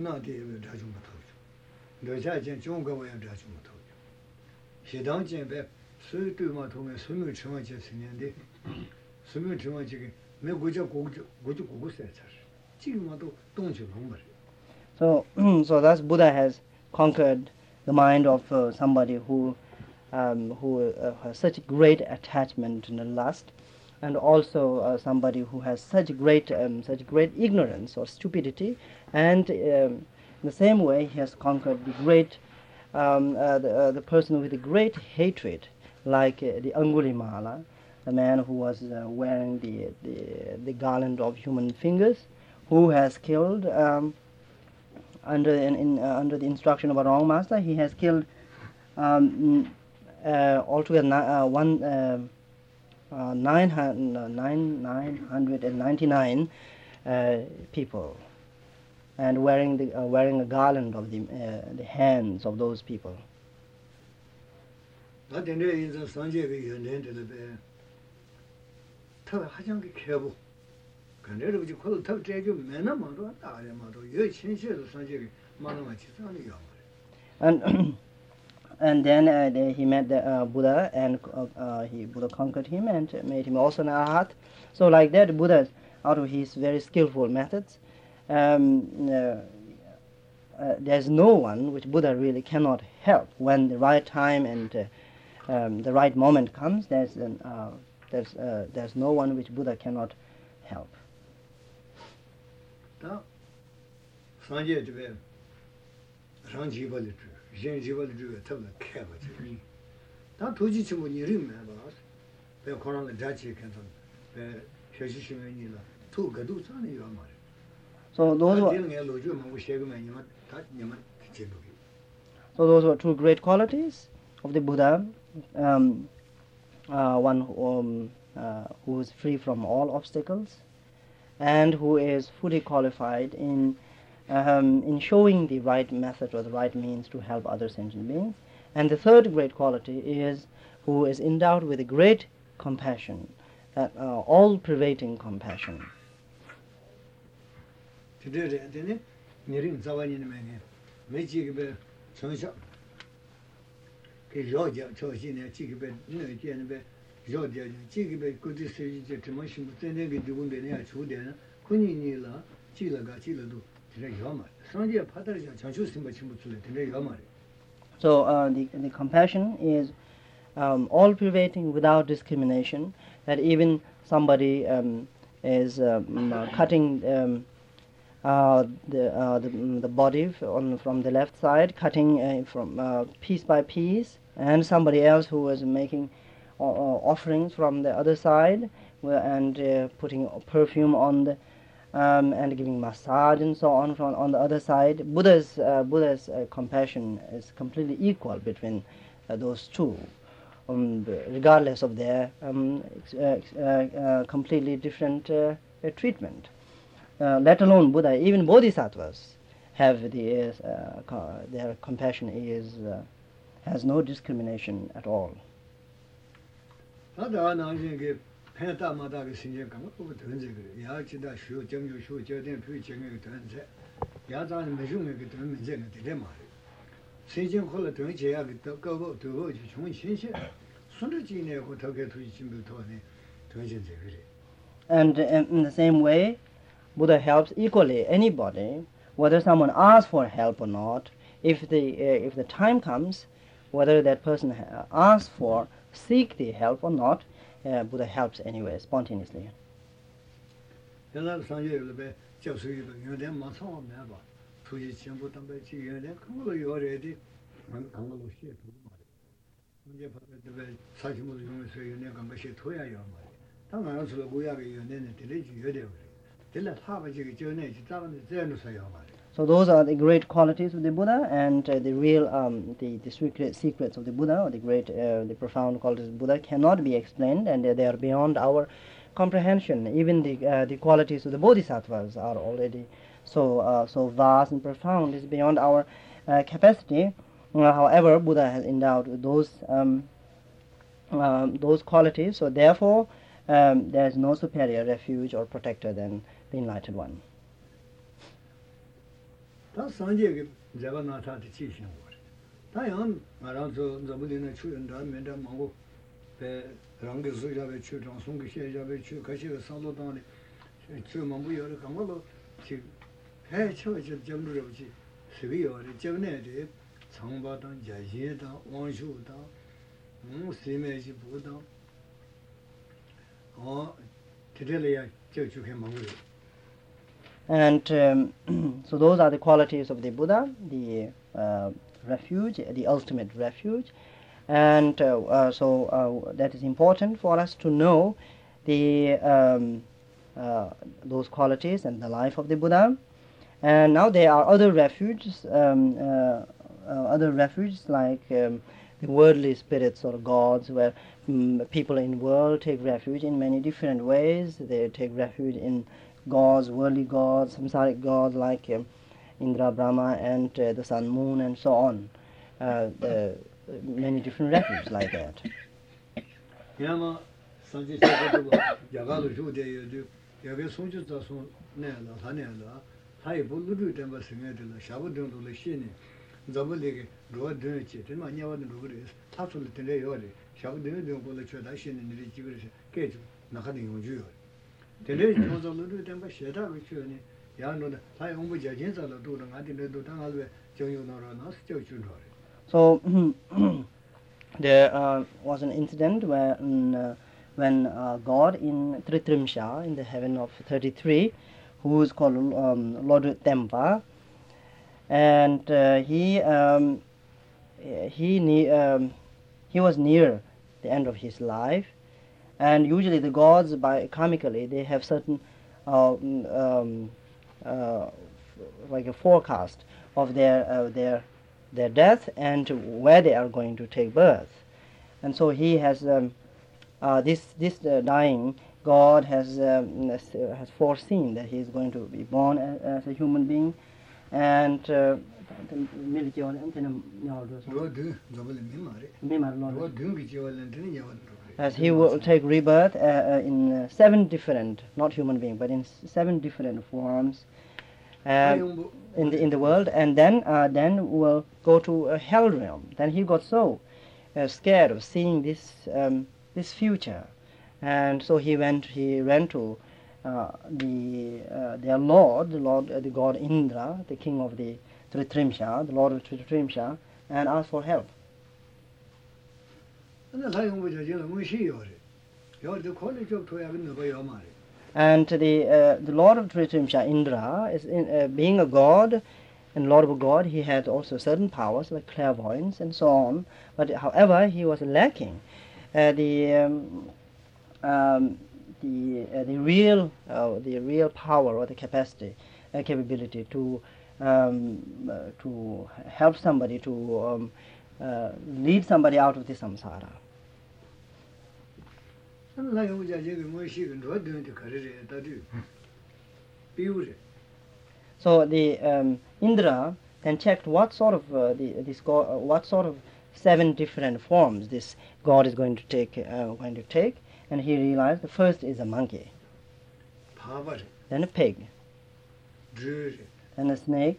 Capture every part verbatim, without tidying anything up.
那地查出不透去，留下见中国我也查出不透去，西当见呗，所以对嘛同个所有情况下成年的，所有情况下个没国家国家国家国家才是，这个嘛都东西弄不了。 So, so thus Buddha has conquered the mind of uh, somebody who, um, who uh, has such great attachment and lust, and also uh, somebody who has such great, um, such great ignorance or stupidity, and um, in the same way he has conquered the great, um, uh, the, uh, the person with a great hatred, like uh, the Angulimala, the man who was uh, wearing the, the the garland of human fingers, who has killed. Um, Under in, in uh, under the instruction of a wrong master, he has killed um, uh, altogether uh, one uh, uh, nine nine nine hundred and ninety nine uh, people, and wearing the uh, wearing a garland of the uh, the hands of those people. And and then uh, the, he met the uh, Buddha, and uh, uh, he Buddha conquered him and made him also an arahat. So like that, Buddha, out of his very skillful methods, um, uh, uh, there's no one which Buddha really cannot help when the right time and uh, um, the right moment comes. There's an, uh, there's uh, there's no one which Buddha cannot help. So those were, so those were two great qualities of the Buddha. Um, uh, one um, uh, who is free from all obstacles, and who is fully qualified in um, in showing the right method or the right means to help other sentient beings. And the third great quality is who is endowed with a great compassion, that uh, all-pervading compassion. So uh, the, the compassion is um, all-pervading without discrimination, that even somebody um, is um, uh, cutting um, uh, the, uh, the the body on from the left side, cutting uh, from uh, piece by piece, and somebody else who is making uh, offerings from the other side, and uh, putting perfume on the um, and giving massage and so on from on the other side. Buddha's uh, Buddha's uh, compassion is completely equal between uh, those two, um, regardless of their um, uh, uh, uh, completely different uh, uh, treatment. Uh, let alone Buddha, even bodhisattvas have the uh, co- their compassion is uh, has no discrimination at all. And in the same way, Buddha helps equally anybody, whether someone asks for help or not. If the uh, if the time comes, whether that person ha- asks for, seek the help or not, uh, Buddha helps anyway, spontaneously. So those are the great qualities of the Buddha, and uh, the real, um, the, the secret, secrets of the Buddha, or the great, uh, the profound qualities of the Buddha cannot be explained, and uh, they are beyond our comprehension. Even the uh, the qualities of the Bodhisattvas are already so uh, so vast and profound, is beyond our uh, capacity. Uh, however, Buddha has endowed those um, um, those qualities, so therefore um, there is no superior refuge or protector than the Enlightened One. 다 산제게 제가 나타한테 지시는 거래. 다양 알아서 저분들은 추연다 면다 먹고 배 랑게 소자베 추정 송게 셰자베 추 가시가 상도당에 추만 부여를 강물로 지 해쳐져 점루려지 스비요리 점내데 장바당 자시다 원슈다 음 세메지 보다 어 되려야 저쪽에 먹어요. And um, so those are the qualities of the Buddha, the uh, refuge, the ultimate refuge. And uh, uh, so uh, that is important for us to know the um, uh, those qualities and the life of the Buddha. And now there are other refuges, um, uh, uh, other refuges like um, the worldly spirits or gods, where um, people in the world take refuge in many different ways. They take refuge in gods, worldly gods, samsaric gods like um, Indra, Brahma, and uh, the sun, moon, and so on. Uh, the, many different refuges like that. 야마 산지 세계도 야가도 주대여도 야게 송주자 송 내라 하내라 하이 볼루도 된바 생애들라 샤고등도 신이 잡을리게 로드치 되마 냐와도 그래 타솔 때려 요리 샤고등도 볼을 쳐다 신이 일이 지그래서 깨주 나가는 용주요 되레 조절로 된바 셰다고 쳐니 야노다 하이 홍보 자진자로 도는 아디도 당할왜 정요노로 나서 저주로. So there uh, was an incident where mm, uh, when uh, God in Tritrimsha, in the heaven of thirty-three, who is called um, Lord Tempa, and uh, he um, he ne- um, he was near the end of his life, and usually the gods, by karmically, they have certain uh, um, uh, like a forecast of their uh, their their death and where they are going to take birth. And so he has um, uh, this this uh, dying God has um, has foreseen that he is going to be born as, as a human being, and uh, as he will take rebirth uh, uh, in uh, seven different, not human being, but in s- seven different forms uh, in the in the world, and then uh, then will go to a hell realm. Then he got so uh, scared of seeing this um, this future, and so he went he ran to uh, the uh, their lord, the lord uh, the god Indra, the king of the Tritrimsha, the lord of Tritrimsha, and asked for help. And the uh, the lord of Tritrimsha, Indra, is in, uh, being a god and lord of a god, he had also certain powers like clairvoyance and so on. But however, he was lacking uh, the um, um, the uh, the real uh, the real power or the capacity, uh, capability to um, uh, to help somebody to um, uh, lead somebody out of the samsara. So the um, Indra then checked what sort of uh, the this god, uh, what sort of seven different forms this god is going to take uh, going to take, and he realized the first is a monkey, then a pig, and a snake,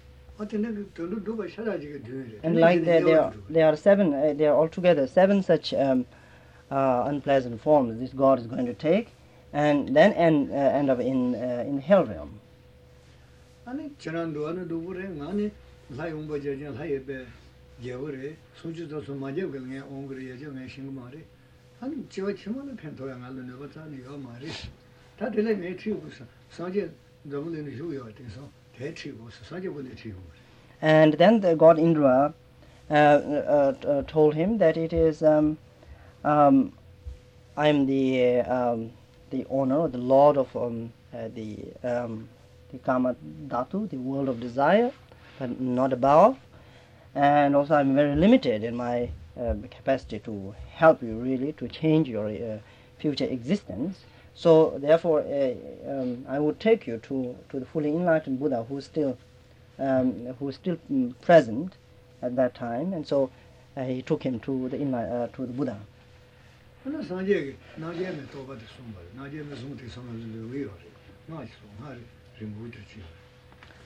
and like there there are, there are seven uh, there are altogether seven such um, uh, unpleasant forms this god is going to take, and then end uh, end up in uh, in the hell realm. 아니 지난도 안에 누구래 아니 라이옹 버저진 라이베 제거래 소주도 소마제 그냥 옹그리 예정에 신고말이 아니 저 치면은 펜토야 말는 거 자니가 말이 다 들래 내 치고서 사제 너무는 휴요 돼서 대치고서 사제 보내 치고. And then the god Indra uh, uh, uh, told him that it is um, um, I am the uh, um, the owner, the lord of um, uh, the um, the Kama Dhatu, the world of desire, but not above. And also I'm very limited in my uh, capacity to help you really to change your uh, future existence. So therefore uh, um, I would take you to, to the fully enlightened Buddha who is still, um, who is still um, present at that time. And so uh, he took him to the, enli- uh, to the Buddha.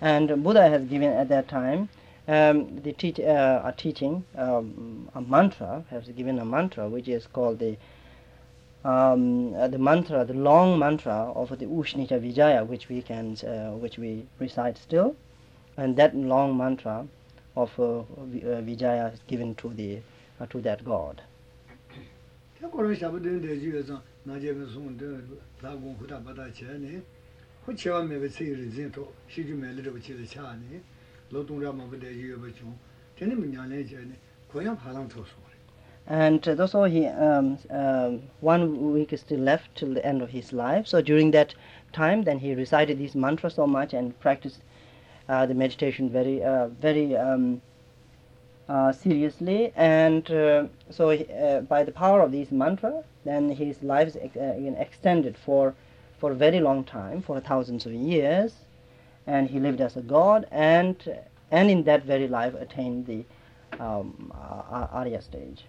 And Buddha has given at that time um, the teach, uh, a teaching, um, a mantra, has given a mantra which is called the um, uh, the mantra, the long mantra of the Ushnita Vijaya, which we can, uh, which we recite still, and that long mantra of uh, vi- uh, Vijaya is given to the uh, to that god. 그런 샤브든 대주에서 나제면 송데 라고 후다 받아 쟤네 호치와 매베 세일이 진토 시주 매르르 붙이를 차니 로동라마 부대주에 버죠 되는 문양에 쟤네 고향 파랑 토소 And uh, thus, he um, um, one week is still left till the end of his life. So during that time, then he recited these mantras so much and practiced uh, the meditation very, uh, very um, uh, seriously. And uh, so, he, uh, by the power of these mantras, then his life is ex- uh, again extended for for a very long time, for thousands of years, and he lived as a god, and and in that very life attained the um, uh, Arya stage.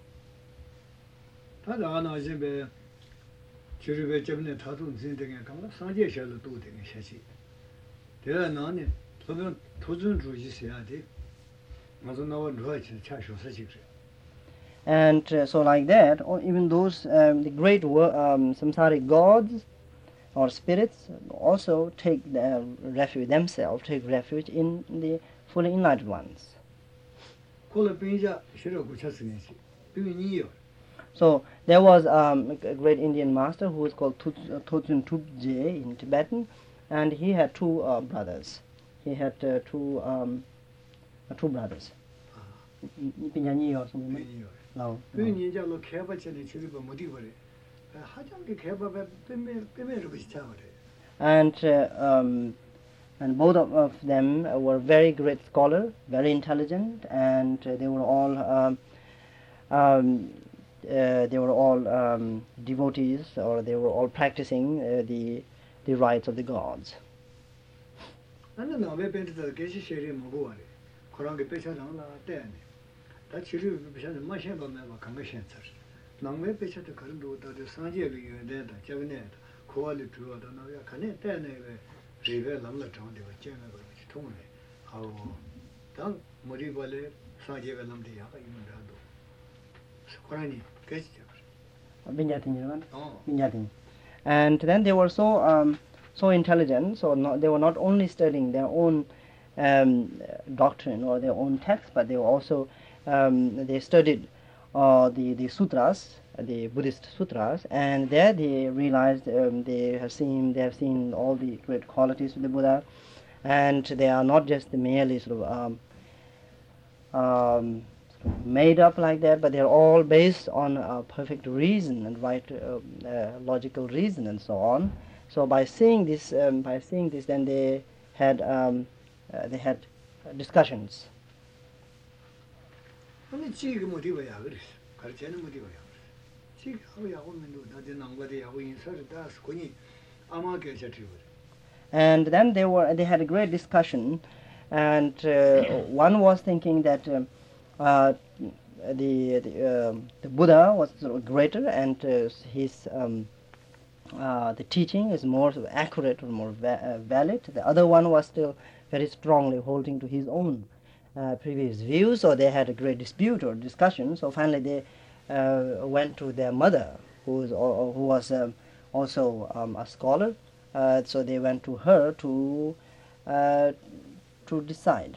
다다 나제베 주르베 점네 다도 진행에 가면 상제셔도 또 되게 셔지 대라 나네 저는 도전 주의해야 돼 맞아 나와 누아치 차쇼 사실 And uh, so like that, or even those um, the great wo- um, samsaric gods or spirits also take their refuge themselves, take refuge in the fully enlightened ones. 콜라 빈자 싫어고 쳤으니지 비니요 So there was um, a great Indian master who was called Totsun Tubje in Tibetan, and he had two uh, brothers. He had uh, two um, uh, two brothers. Pinyani or something. 비니요 No. 비니자로 개발전에 주르바 못이 버려 하장게 개발에 빼매 빼매를 비슷하 버려 And uh, um, and both of, of them uh, were very great scholar, very intelligent, and uh, they were all um, um, uh, they were all um, devotees, or they were all practicing uh, the the rites of the gods. 나는 나왜 벤트다 계시 쉐리 먹고 와래 그런 게 배차장나 때네 다 치료 배차는 마셔 보면 막 강가신서 나왜 배차도 그런 도다도 상제를 유대다 저번에 고알이 들어와도 나야 가네 때네 왜 리베 남라 정데 쟁가 거 통네 아우 당 머리 벌레 상제가 남데 야가 있는다도 그러니 계시죠 Vinyatini, 어 Vinyatini. And then they were so um, so intelligent, so not, they were not only studying their own um, doctrine or their own text, but they were also um, they studied uh, the the sutras, the Buddhist sutras, and there they realized um, they have seen they have seen all the great qualities of the Buddha, and they are not just merely sort of um, um, made up like that, but they're all based on uh, perfect reason and right uh, uh, logical reason and so on. So by seeing this, um, by seeing this, then they had um, uh, they had uh, discussions. 아니 지금 어디 봐야 그래 가르치는 어디 봐야 그래 지금 하고 야고 민도 나한테 남과대 야고 인사를 다 스코니 아마 계셔지고 And then they were they had a great discussion, and uh, one was thinking that um, uh, the the, um the Buddha was sort of greater, and uh, his um, uh, the teaching is more sort of accurate or more va- uh, valid. The other one was still very strongly holding to his own uh, previous views, so they had a great dispute or discussion. So finally they uh, went to their mother, who was al- who was um, also um, a scholar. Uh, so they went to her to uh, to decide.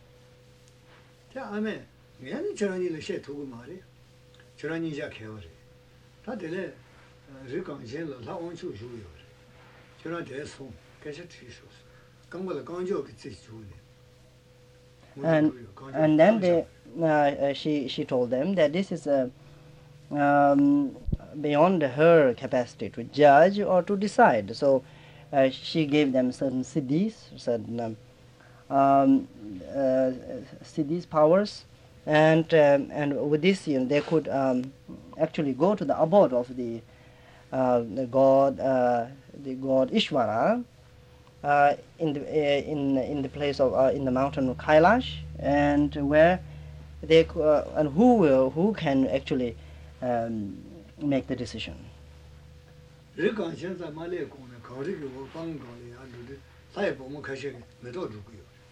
자 아메 얘는 저런 일을 셰 두고 말이 저런 일자 개월이 다들 리강신을 다 온수 주요 저런 대소 계속 뒤서서 강보다 강조 그 지주네 And and then they uh, uh, she she told them that this is a um, beyond her capacity to judge or to decide. So uh, she gave them certain siddhis, certain um, um, uh, siddhis powers, and um, and with this, you know, they could um, actually go to the abode of the uh, the god uh, the god Ishvara uh, in the uh, in in the place of uh, in the mountain of Kailash, and where they c- uh, and who will who can actually um, make the decision. 리강신자 말에 공에 거리고 방거리 안도 사회 보면 가시 메도 주고요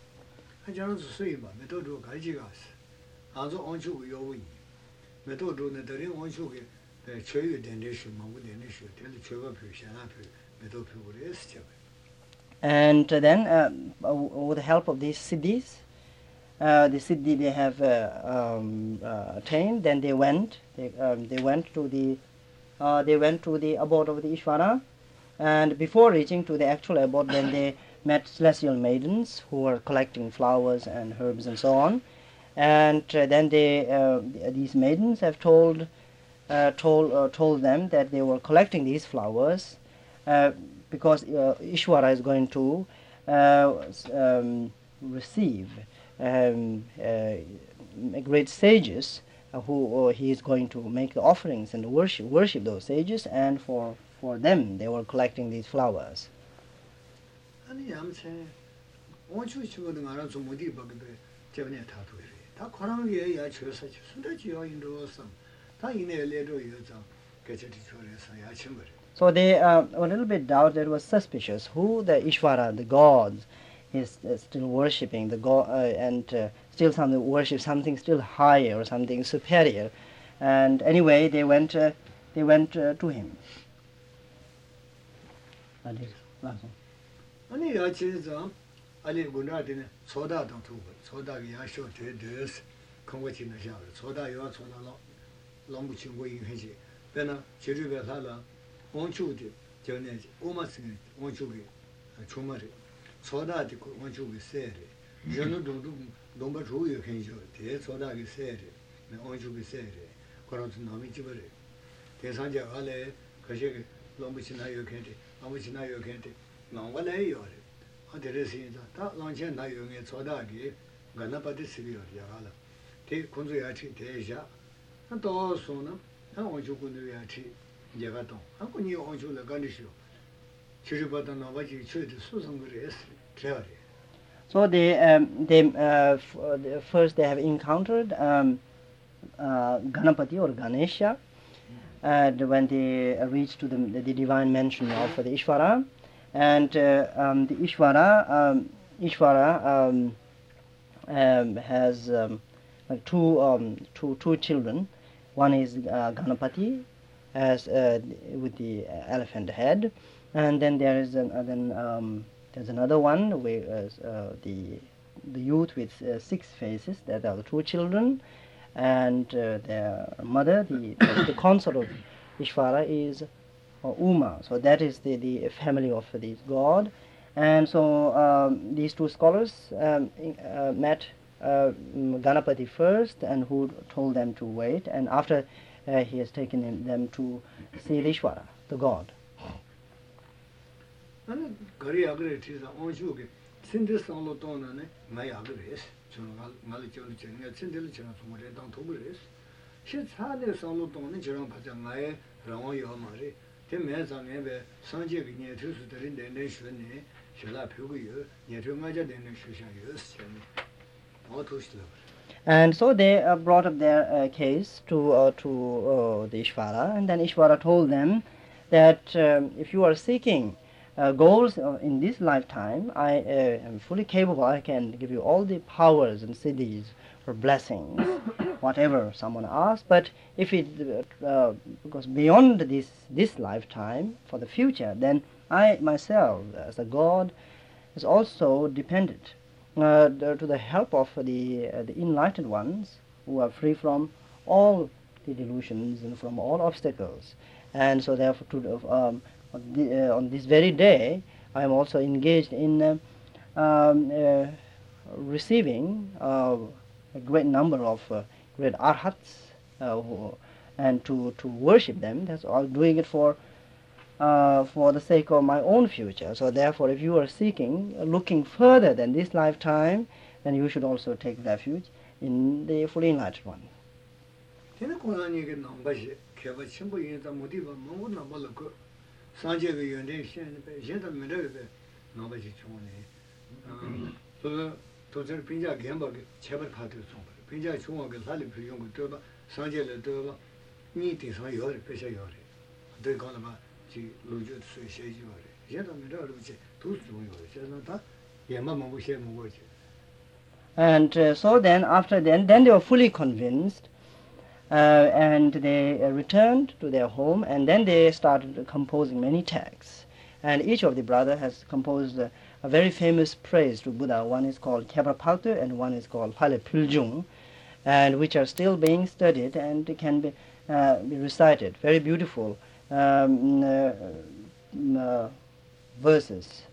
하자는 수수이마 메도도 가지가스 아주 온주고 요원이 메도도는 다른 온주게 최유 된데시 마고 된데시 될 최고 표시나 표 메도 표를 했죠. And then, uh, with the help of these siddhis, uh, the siddhi they have uh, um, uh, attained, then they went, they, um, they went to the, uh, they went to the abode of the Ishvara, and before reaching to the actual abode, then they met celestial maidens who were collecting flowers and herbs and so on, and uh, then they, uh, these maidens have told, uh, told, uh, told them that they were collecting these flowers. Uh, because uh, Ishvara is going to uh, um, receive um, uh, great sages uh, who uh, he is going to make offerings and worship worship those sages, and for for them they were collecting these flowers. 아니 암체 원주 치고도 알아서 못이 버게 저번에 다 도래. 다 그런 야 줘서 순대지요 인도서 다 이내 레도 여자 개체티 초래서 야 친구. So they uh, were a little bit doubt that was suspicious who the Ishvara, the gods, is uh, still worshipping, the go- uh, and uh, still something worship something still higher or something superior. And anyway, they went uh, they went uh, to him. 아니 야 진짜 아니 군나한테는 소다도 두고 소다가 야쇼 되듯 건거치는 샤 소다 요 소다로 너무 친구 인해지 배나 제주에 살아 원주디 전에 오마스는 원주기 주말에 소다디 원주기 세리 저는 도도 너무 좋아요 괜찮죠 대 소다기 세리 원주기 세리 그런서 남이 집에 대상자 알에 그게 너무 지나요 괜찮대 아무 지나요 괜찮대 나와래요 아들에서다 다 런chen 나요에 소다기 간나빠디 시비요 야라 대 군주야치 대샤 또 소는 한 원주군들야치 예가동 한군이 온줄을 가리시오 지르바다 나와지 최대 수성들이 했어 그래야 So they um, they uh, f- uh, the- first they have encountered um, uh, Ganapati or Ganesha, and when they uh, reached to the, the divine mention of the Ishvara, and uh, um, the Ishvara um, Ishvara um, um, has um, like two um, two two children. One is uh, Ganapati, as uh, with the elephant head, and then there is an, uh, then um, there's another one with uh, uh, the the youth with uh, six faces. That are the two children, and uh, their mother, the the, the consort of Ishvara is uh, Uma. So that is the the family of this god, and so um, these two scholars um, uh, met uh, Ganapati first, and who told them to wait, and after. Uh, he has taken him, them to see Ishvara, the god. 아니 거리 아그레 티자 온주게 신데상로 돈네 나이 아그레스 저는 말이 저는 제가 신데를 제가 정말에 당 도그레스 시차네 상로 돈네 저랑 받자 나의 라고요 말이 대매상에 상제 그냥 투수들인데 내 쉬네 쉬라 표고요 예정하자 되는 쉬샤요 시네 어토시도 And so they uh, brought up their uh, case to uh, to uh, the Ishvara, and then Ishvara told them that um, if you are seeking uh, goals uh, in this lifetime, I uh, am fully capable. I can give you all the powers and siddhis or blessings, whatever someone asks. But if it uh, goes beyond this this lifetime for the future, then I myself, as a god, is also dependent. Uh, to the help of the uh, the enlightened ones who are free from all the delusions and from all obstacles, and so therefore to, um, on, the, uh, on this very day I am also engaged in uh, um, uh, receiving uh, a great number of uh, great arhats uh, who, and to, to worship them. That's all, doing it for Uh, for the sake of my own future. So therefore, if you are seeking, uh, looking further than this lifetime, then you should also take refuge in the fully enlightened one. 걔네 고난이게 남바시 개바 친구 인자 못이바 너무 남발고 산제가 연대 신에 신다 메르베 남바시 총네 그 도저 빈자 gem바게 제발 파도 좀 빈자 총하게 살리 필요한 거 더바 산제를 더바 니 대상 요리 배셔 요리 더 가는 지 로저 수시지 요리 얘도 메르르지 두스 좀 요리 저는 다 얘만 먹고 셔 먹어지 And uh, so then, after then, then they were fully convinced, uh, and they uh, returned to their home, and then they started composing many texts. And each of the brothers has composed uh, a very famous praise to Buddha. One is called Khyabra Paltu, and one is called Phale Puljung, and which are still being studied and can be, uh, be recited. Very beautiful um, uh, uh, verses.